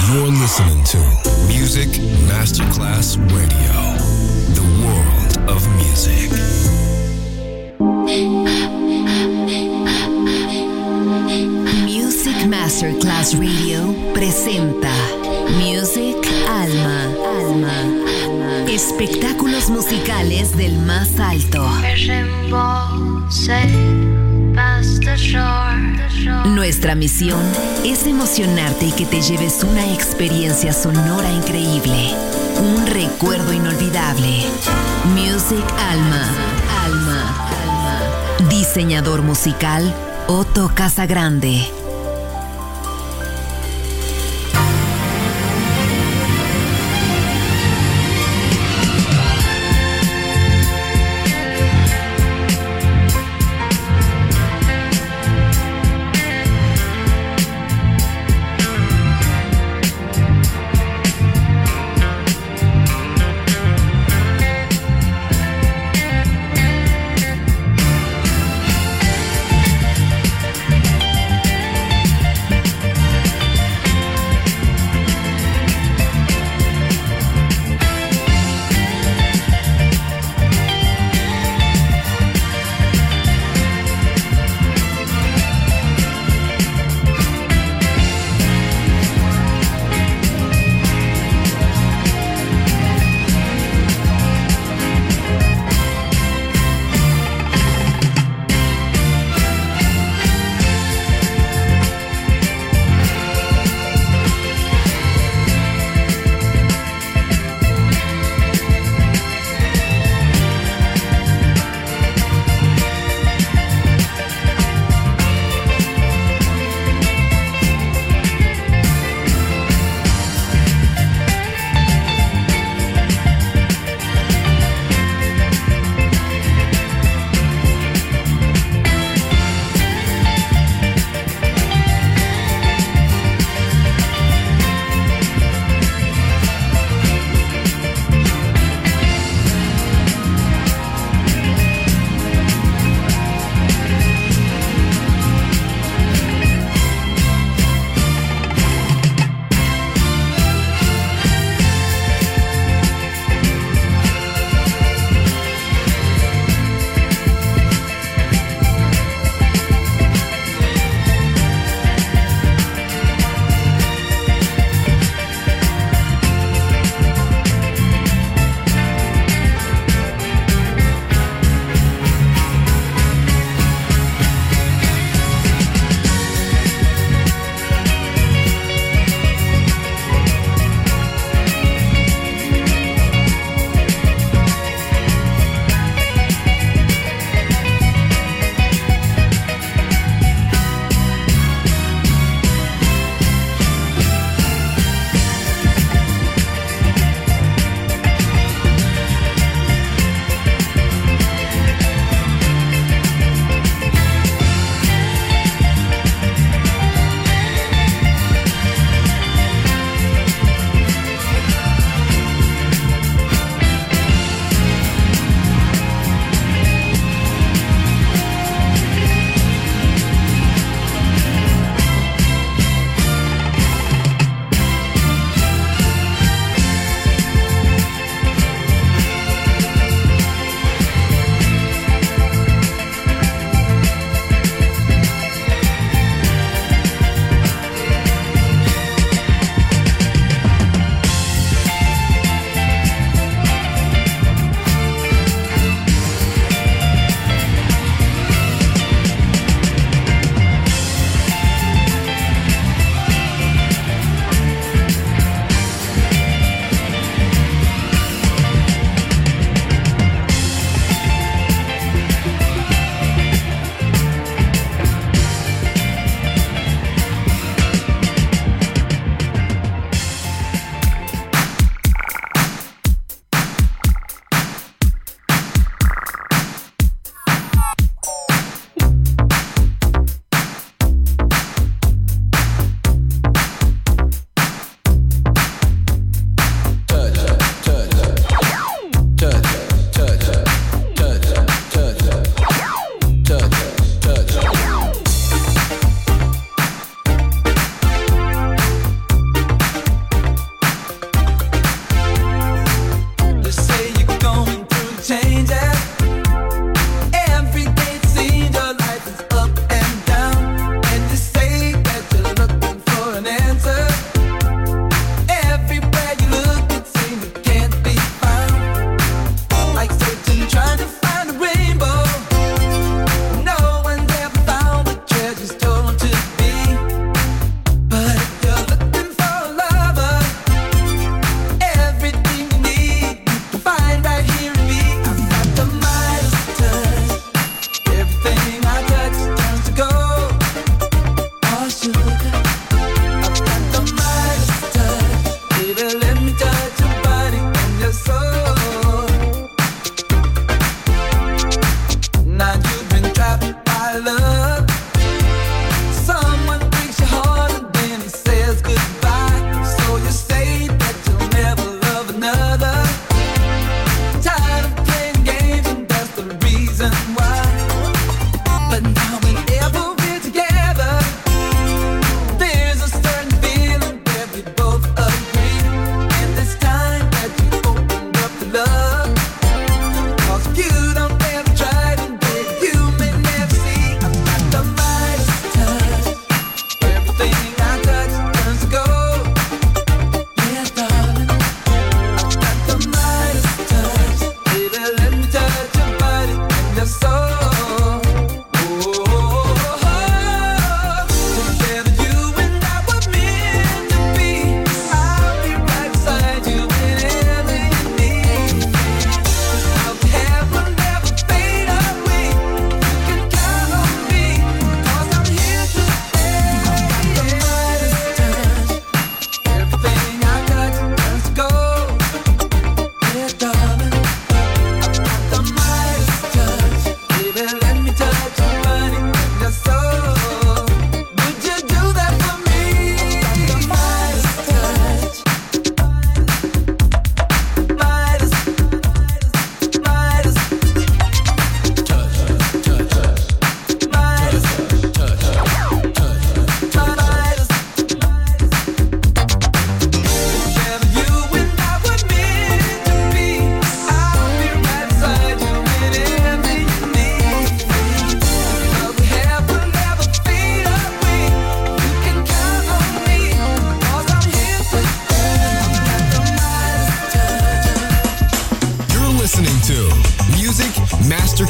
You're listening to Music Masterclass Radio, the world of music. Music Masterclass Radio presenta Music Alma. Espectáculos musicales del más alto. Nuestra misión es emocionarte y que te lleves una experiencia sonora increíble, un recuerdo inolvidable. Music Alma. Diseñador musical Otto Casagrande.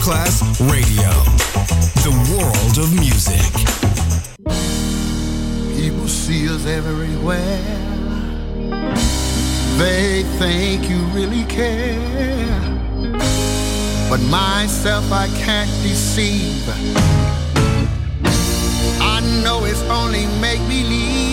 Masterclass Radio, the world of music. People see us everywhere. They think you really care. But myself I can't deceive. I know it's only make-believe.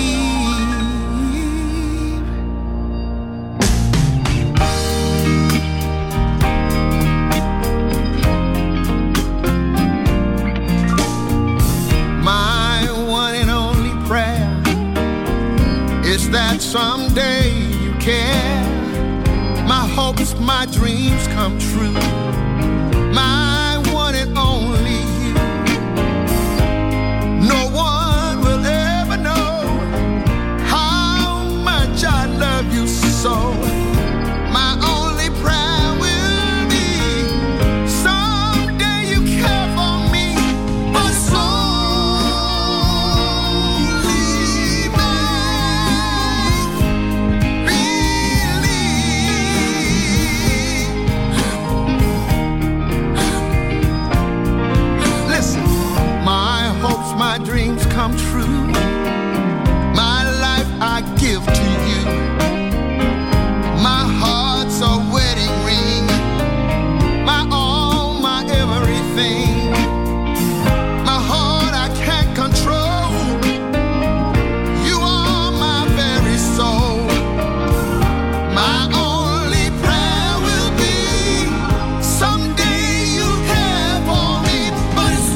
My one and only prayer is that someday you care. My hopes, my dreams come true. My one and only you. No one will ever know how much I love you so. My only prayer will be someday you care for me, but it's only my dreams come true. My life I give to you. My heart's a wedding ring. My all, my everything. My heart I can't control. You are my very soul. My only prayer will be someday you'll care for me, but it's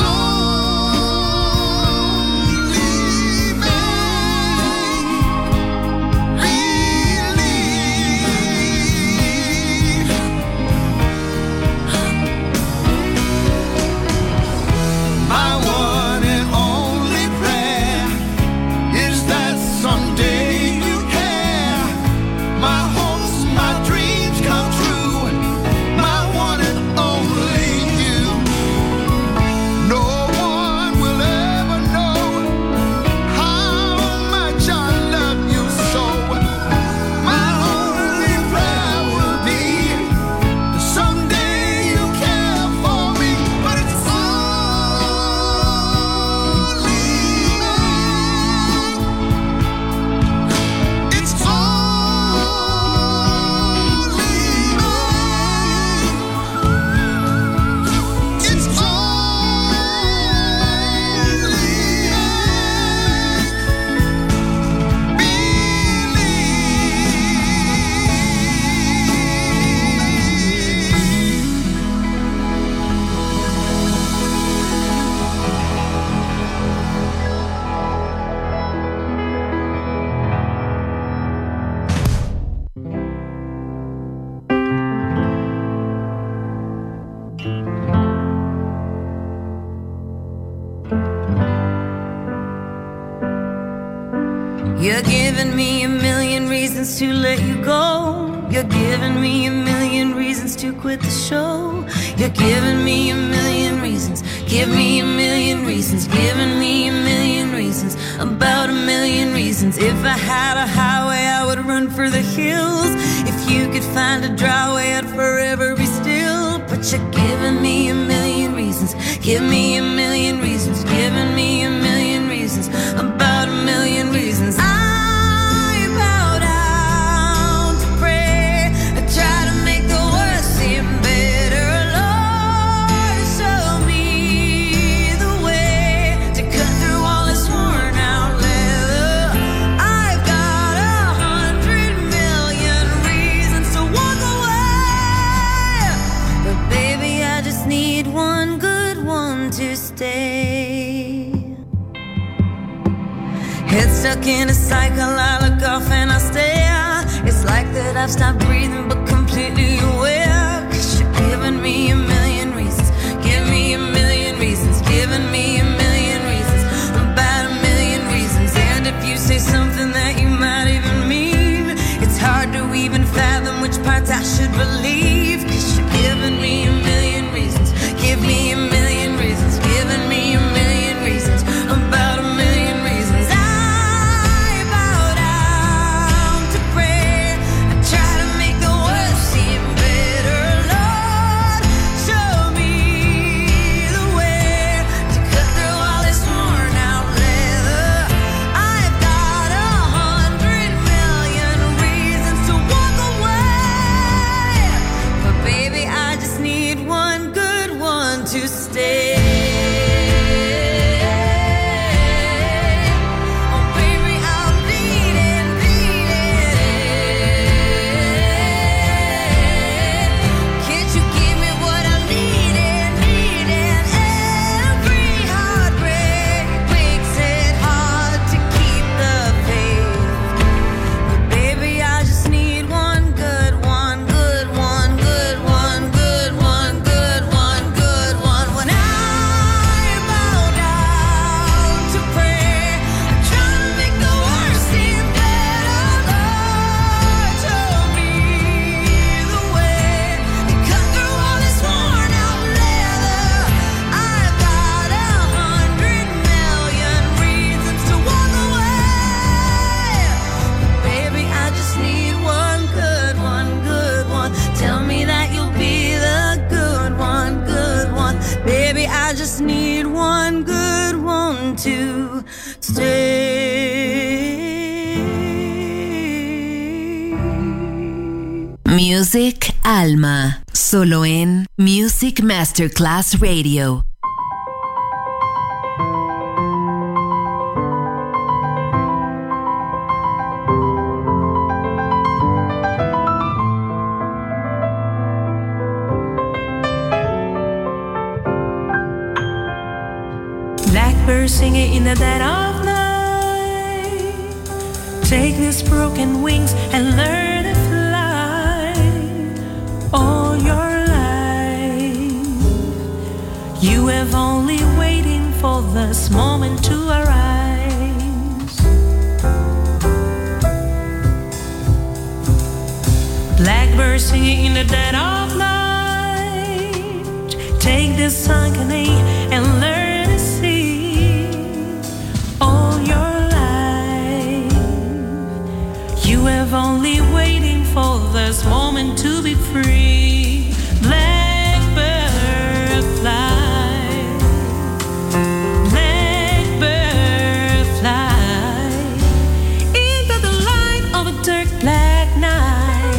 You're giving me a million reasons to let you go. You're giving me a million reasons to quit the show. You're giving me a million reasons. Give me a million reasons. Giving me a million reasons. About a million reasons. If I had a highway, I would run for the hills. If you could find a dry way, I'd forever be still. But you're giving me a million reasons. Give me a million reasons. Giving me a million reasons. About a million reasons. I bow down to pray. I try to make the worst seem better. Lord, show me the way to cut through all this worn out leather. I've got 100 million reasons to walk away, but baby, I just need one good one to stay. Head stuck in a cycle, I look off and I stare. It's like that I've stopped breathing but completely aware. 'Cause you're giving me a million reasons. Give me a million reasons. Giving me a million reasons. About a million reasons. And if you say something that you might even mean, it's hard to even fathom which parts I should believe. 'Cause you're giving me a million reasons. Give me a million reasons. Giving me a million reasons. About a million reasons. I bow down to pray. I try to make the worst seem better. Lord, show me Music Alma, solo en Music Masterclass Radio. Blackbird singing in the dead of night. Take these broken wings and learn to fly all your life. You have only waiting for this moment to arise. Blackbird singing in the dead of night. Take this sunken A and learn to sing all your life. You have only waiting for this moment to be free. Blackbird fly, blackbird fly into the light of a dark black night.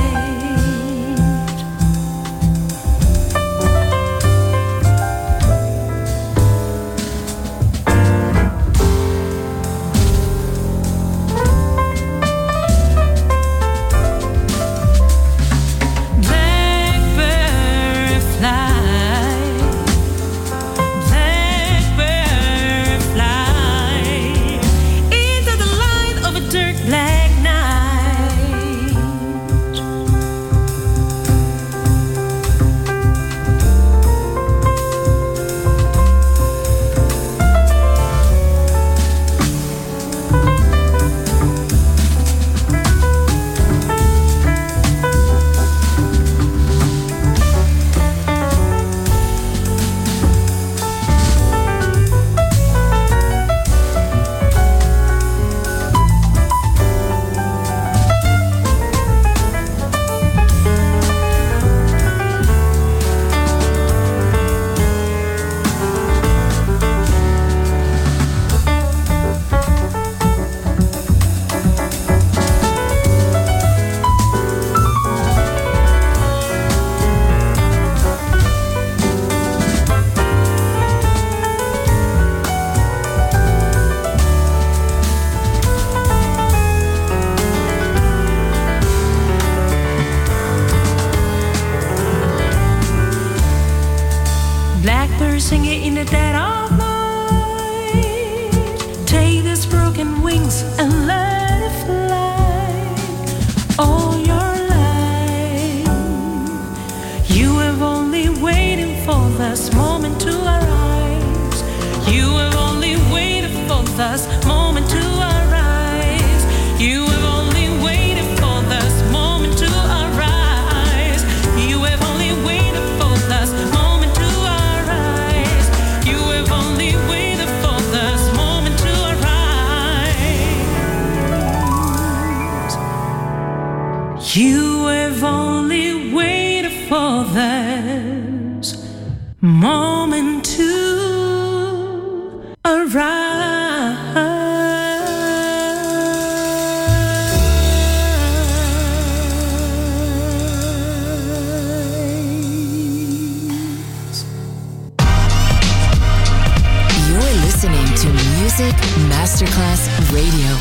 Singing in the dead of night. Take these broken wings and let it fly all your life. You have only waiting for this moment to arise. You have only waited for this moment to arise. You have only waited for this moment to arise. You have only waited for this moment. You have only waited for this moment to arise. You're listening to Music Masterclass Radio.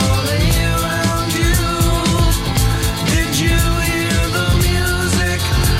Did you hear the music?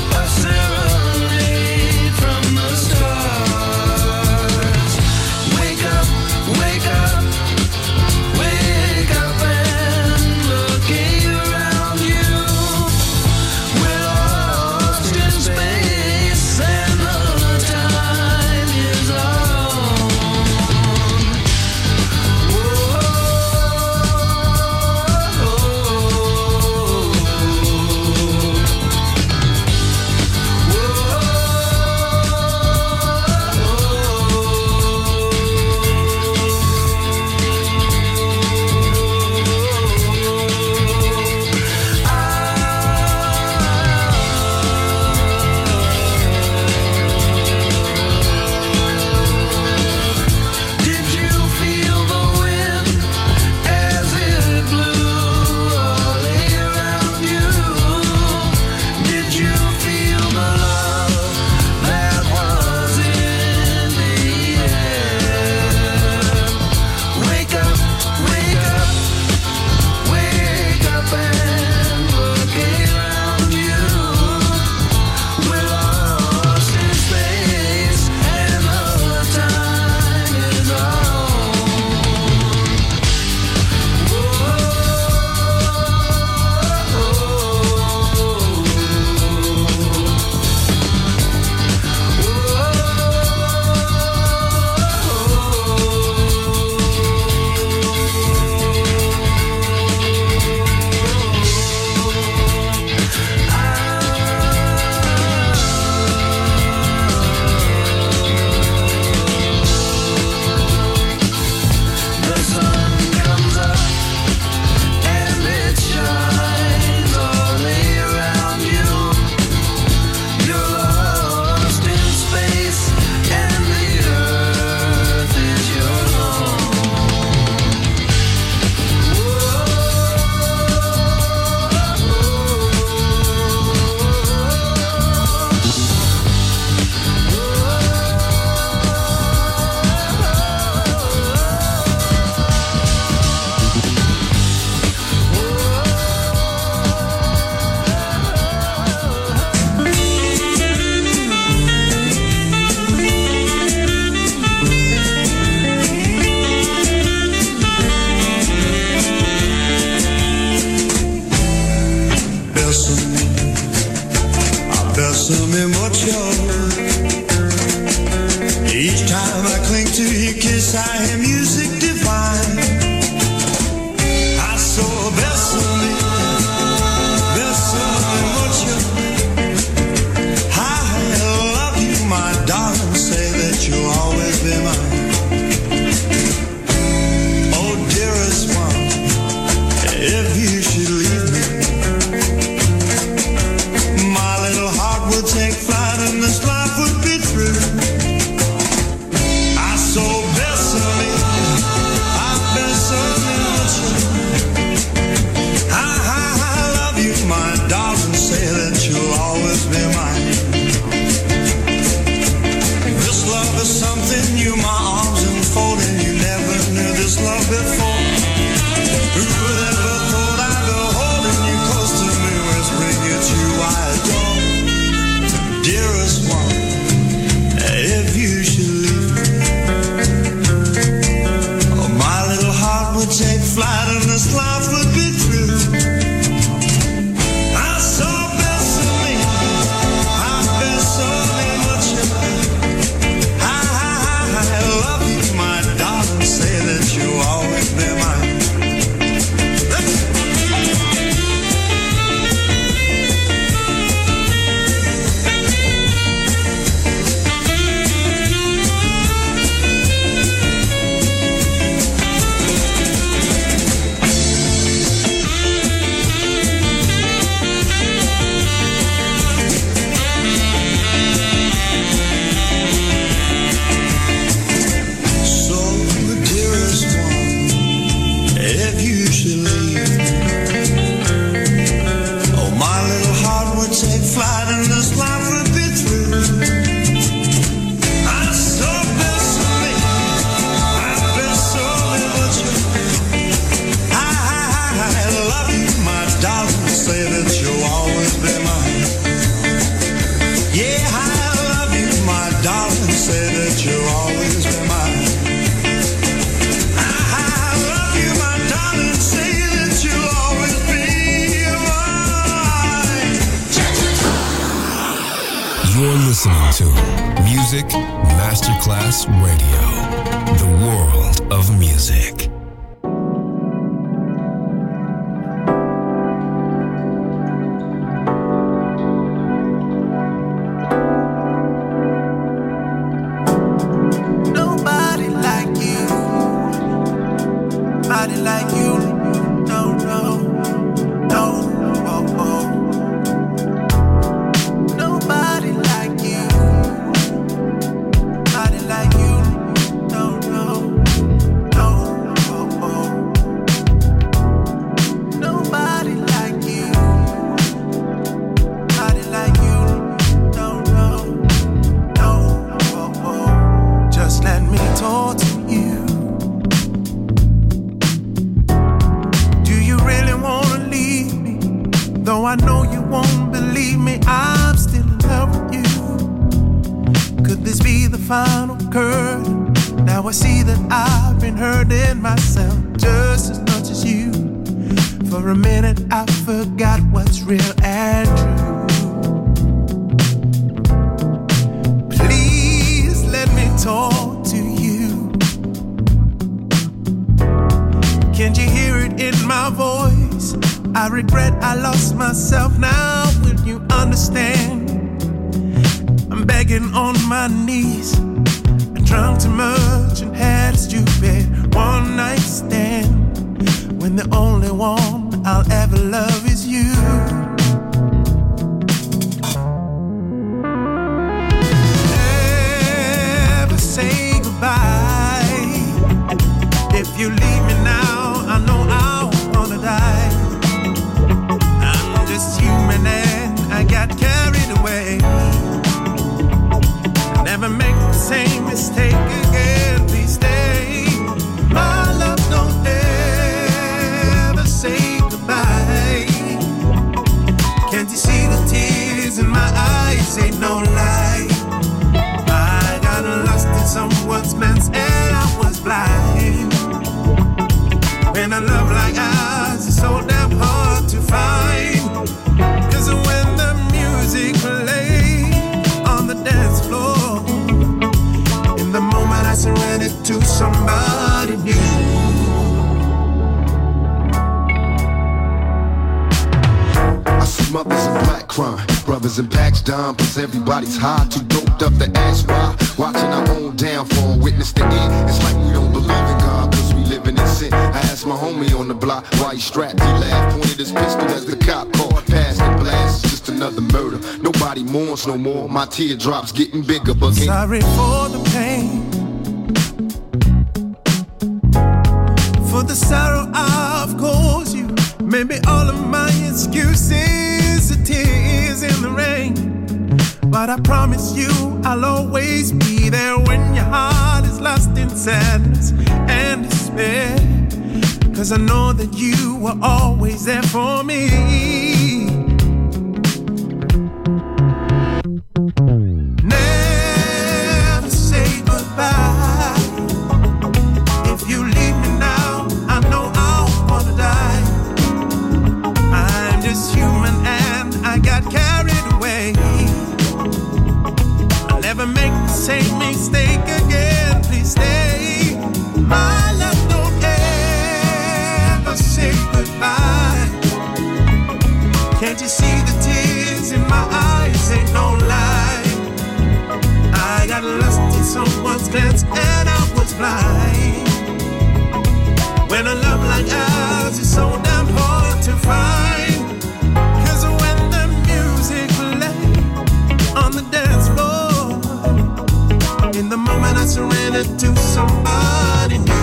me mucho. Each time I cling to your kiss, I hear music divine. I saw bésame mucho. I love you, my darling, say that you'll always be mine. Oh, dearest one, if you should leave me, my little heart would take flight and this life would be through. I so bésame mucho. I love you, my darling, say that you'll always be mine. This love is something new, my arms enfolding. You never knew this love before. Who would ever thought I'd be holding you close to me, whispering it's you I adore. Dearest one, if you should leave me, oh, my little heart would take flight and this life would be through. I so bésame mucho. I love you, my darling, say that you'll always be mine. Flight and this life would be through. I so bésame mucho. I love you, my darling, say that you'll always be mine. Yeah, I love you, my darling, say that you'll always be mine. I love you, my darling, say that you'll always be mine. You're listening to Music Masterclass Radio, the world of music. Nobody like you. Nobody like you. No, no, no. Oh, oh. Nobody like you. Nobody like you. No, no, no. Oh, oh. Nobody like you. Nobody like you. No, no, no. Oh, oh. Just let me talk to you. Do you really wanna leave me? Though I know you won't believe me, I'm still in love with you. Could this be the final curtain? Now I see that I've been hurting myself just as much as you. For a minute I forgot what's real and true. Please let me talk to you. Can't you hear it in my voice? I regret I lost myself. Now will you understand? I'm begging on my knees. I drunk too much and had a stupid one night stand, when the only one I'll ever love is you. Never say goodbye. If you leave me now, I know I'll wanna die. I'm just human and I got carried away. Never make the same mistake again, please stay. My love, don't ever say goodbye. Can't you see the tears in my eyes? Ain't no lie. I got lost in someone's mess and I was blind. When a love like ours is so damn hard to find. 'Cause when the music plays, somebody new. I see mothers in black crime, brothers in packs down, cause everybody's high, too doped up to ask why. Watching our own downfall, witness the end. It's like we don't believe in God, cause we living in sin. I asked my homie on the block why he strapped. He laughed, pointed his pistol as the cop called. Past the blast, just another murder. Nobody mourns no more. My teardrops getting bigger, but can't. Sorry for the pain, for the sorrow I've caused you. Maybe all of my excuses are tears in the rain. But I promise you I'll always be there when your heart is lost in sadness and despair. Cause I know that you were always there for me. Never say goodbye. If you leave me now, I know I'll wanna die. I'm just human and I got carried away. I'll never make the same mistake again. Please stay. My love, don't ever say goodbye. Can't you see the tears in my eyes? Ain't no lie. I got lost in someone's glance and I was blind. When a love like ours is so damn hard to find. Cause when the music plays on the dance floor, in the moment I surrender to somebody new.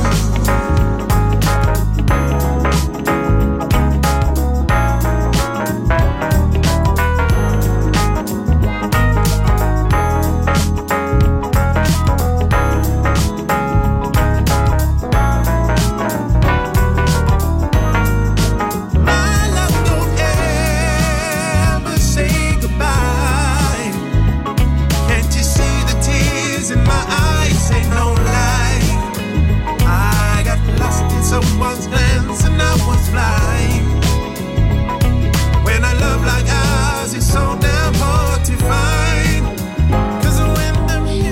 Someone's glance and I was blind. When a love like ours is so damn hard to find. Cause when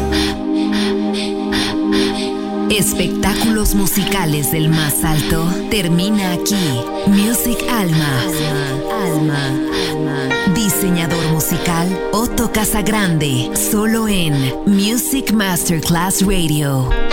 the Espectáculos musicales del más alto termina aquí. Music Alma. Diseñador musical Otto Casagrande, solo en Music Masterclass Radio.